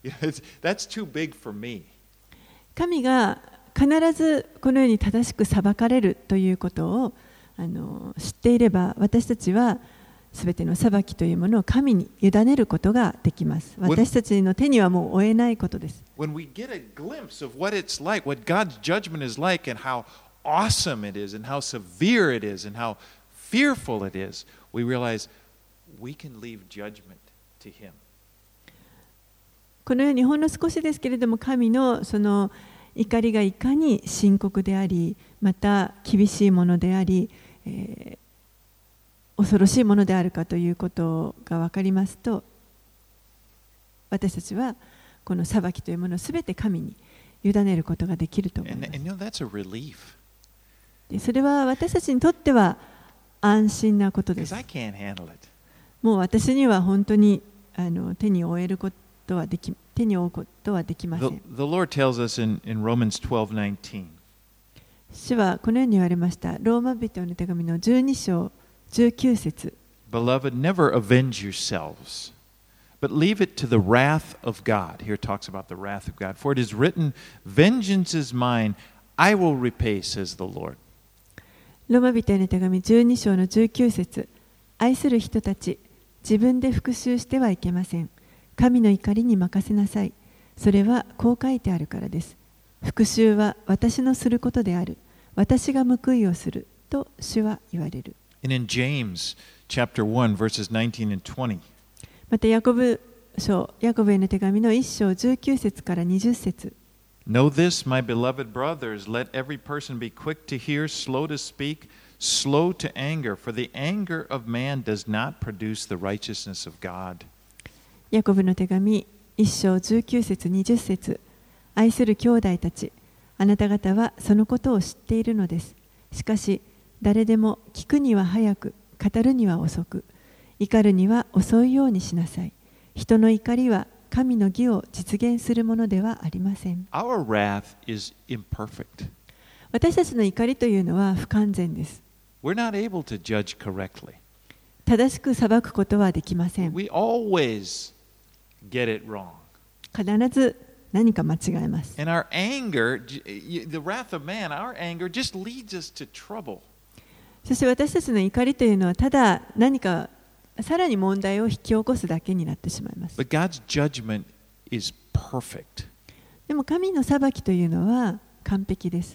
that's too big for me. 神が必ずこのように正しく裁かれるということをあの知っていれば、私たちはすべての裁きというものを神に委ねることができます。私たちの手にはもう負えないことです。 When we get a glimpse of what it's like, what God's judgment is like, and how awesome it is, and how severe it is, and how fearful it is, we realize we can leave judgment to Him. このようにほんの少しですけれども、神のその怒りがいかに深刻であり、また厳しいものであり、えー、恐ろしいものであるかということが分かりますと、私たちはこの裁きというものをすべて神に委ねることができると思います。 And, and you know, that's a relief. でそれは私たちにとっては安心なことです。 Because I can't handle it. もう私には本当にあの手に負えることはでき、手に負うことはできません。 The, the Lord tells us in, in Romans twelve nineteen. 主はこのように言われました。ローマ人の手紙のじゅうに章じゅうきゅう節。 Beloved, never avenge yourselves, but leave it to the wrath of God. Here it talks about the wrath of God. For it is written, Vengeance is mine, I will repay, says the Lord. ローマ人への手紙じゅうに章のじゅうきゅう節。愛する人たち、自分で復讐してはいけません。神の怒りに任せなさい。それはこう書いてあるからです。復讐は私のすることである。私が報いをすると主は言われる。 And in James chapter one, verses nineteen and twenty. またヤコブ書、ヤコブへの手紙のいち章じゅうきゅう節からにじゅう節。 Know this, my beloved brothers, let every person be quick to hear, slow to speak, slow to anger, for the anger of man does not produce the righteousness of God. ヤコブの手紙いち章じゅうきゅう節にじゅう節。愛する兄弟たち、あなた方はそのことを知っているのです。しかし誰でも聞くには早く、語るには遅く、怒るには遅いようにしなさい。人の怒りは神の義を実現するものではありません。 Our wrath is imperfect. 私たちの怒りというのは不完全です。 We're not able to judge correctly. 正しく裁くことはできません。 We always get it wrong. 必ず何か間違えます。 And our anger, the wrath of man, our anger just leads us to trouble. そして私たちの怒りというのはただ何かさらに問題を引き起こすだけになってしまいます。 But God's judgment is perfect. でも神の裁きというのは完璧です。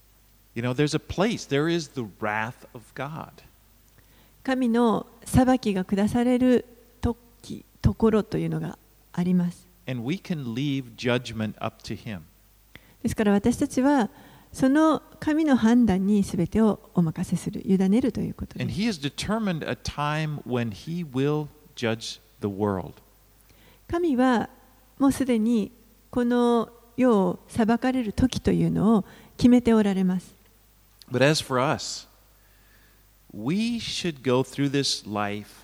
You know, there's a place, there is the wrath of God. 神の裁きが下される時、ところというのがあります。 And we can leave judgment up to Him. ですから私たちはその神の判断にすべてをお任せする、委ねるということです。 And He has determined a time when He will judge the world. 神はもうすでにこの世を裁かれる時というのを決めておられます。 But as for us, we should go through this life,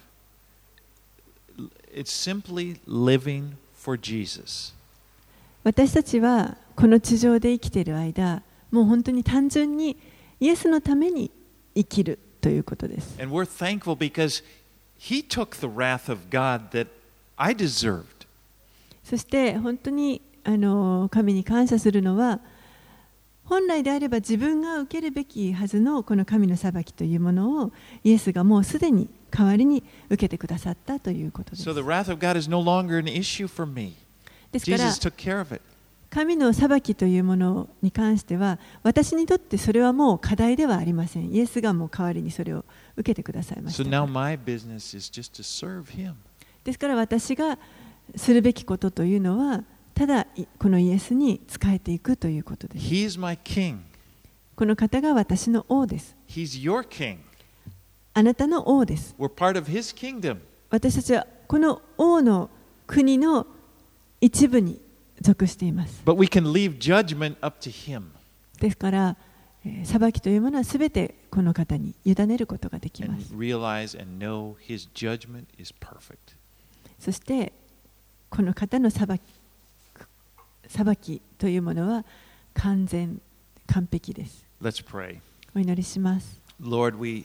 it's simply living for Jesus. 私たちはこの地上で生きている間、もう本当に単純にイエスのために生きるということです。 And we're thankful because He took the wrath of God that I deserved. そして本当にあの神に感謝するのは、本来であれば自分が受けるべきはずのこの神の裁きというものをイエスがもうすでに代わりに受けてくださったということです。 So the wrath of God is no longer an issue for me. ですから Jesus took care of it. 神の裁きというものに関しては私にとってそれはもう課題ではありません。イエスがもう代わりにそれを受けてくださいました。 So now my business is just to serve Him. ですから私がするべきことというのはただこのイエスに仕えていくということです。 He is my king. この方が私の王です。 He's your king. あなたの王です。 We're part of His kingdom. 私たちはこの王の国の一部に属しています。 But we can leave judgment up to Him. ですから、えー、裁きというものはすべてこの方に委ねることができます。 And realize and know His judgment is perfect. そしてこの方の裁き、裁きというものは完全、完璧です。 Let's pray. お祈りします。 Lord, we,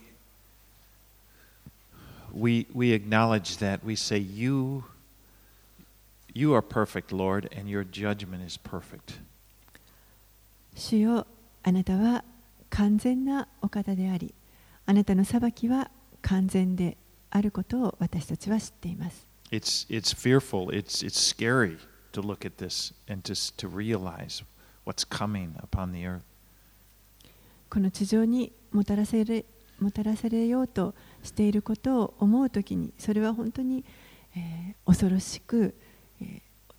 we, we acknowledge that. We say, you, you are perfect, Lord, and your judgment is perfect. 主よ、あなたは完全なお方であり、あなたの裁きは完全であることを私たちは知っています。 It's, it's fearful, it's, it's scary to look at this and to, to realize what's coming upon the earth. この地上にもたらせれ、もたらされようとしていることを思うときに、それは本当に、えー、恐ろしく、え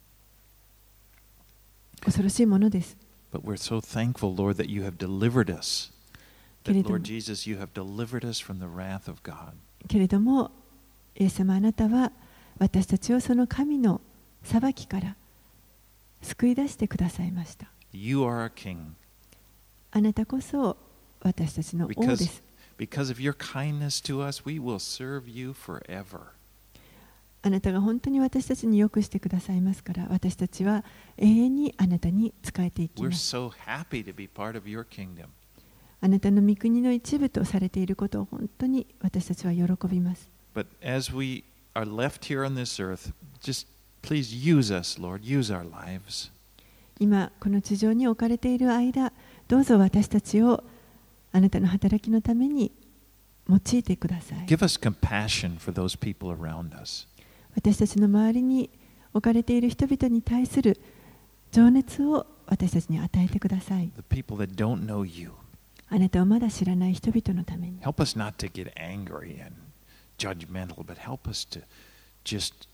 ー、恐ろしいものです。 But we're so thankful, Lord, that you have delivered us. That, Lord Jesus, you have delivered us from the wrath of God. けれども、イエス様あなたは私たちをその神の裁きから救い出してくださいました。 You are our king. あなたこそ私たちの王です。 Because of your kindness to us, we will serve you forever. あなたが本当に私たちによくしてくださいますから、私たちは永遠にあなたに仕えていきます。 We're so happy to be part of your kingdom. あなたの御国の一部とされていることを本当に私たちは喜びます。 But as we are left here on this earth, just please use us, Lord, use our lives. 今この地上に置かれている間、どうぞ私たちをあなたの働きのために用いてください。 Give us compassion for those people around us. 私たちの周りに置かれている人々に対する情熱を私たちに与えてください。 The people that don't know you. あなたをまだ知らない人々のために。 Help us not to get angry and judgmental, but help us to just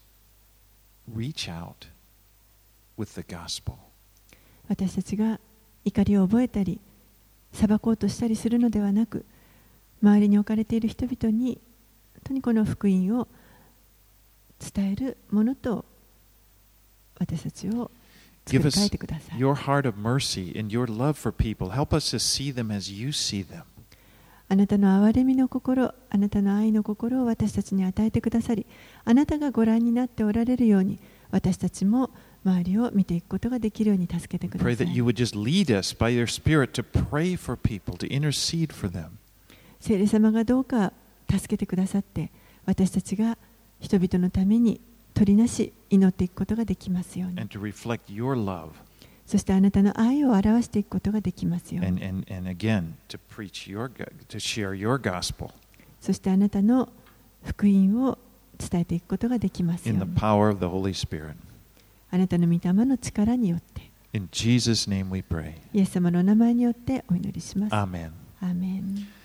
reach out with the gospel. 私たちが怒りを覚えたり、裁こうとしたりするのではなく、周りに置かれている人々に本当にこの福音を伝えるものと私たちを作り変えてください。 Give us your heart of mercy and your love for people. Help us to see them as you see them. あなたの憐れみの心、あなたの愛の心を私たちに与えてくださり、あなたがご覧になっておられるように、私たちも周りを見ていくことができるように助けてください。 Pray that you would just lead us by your Spirit to pray for people, to intercede for them. 聖霊様がどうか助けてくださって、私たちが人々のために取りなし祈っていくことができますように。 And to reflect your love. そしてあなたの愛を表していくことができますように。 And, and, and again, to preach your, to share your gospel. そしてあなたの福音を伝えていくことができますよう In に。 the power of the Holy Spirit. あなたの御霊の力によって。 In Jesus' name we pray. イエス様の名前によってお祈りします。 Amen. アーメン。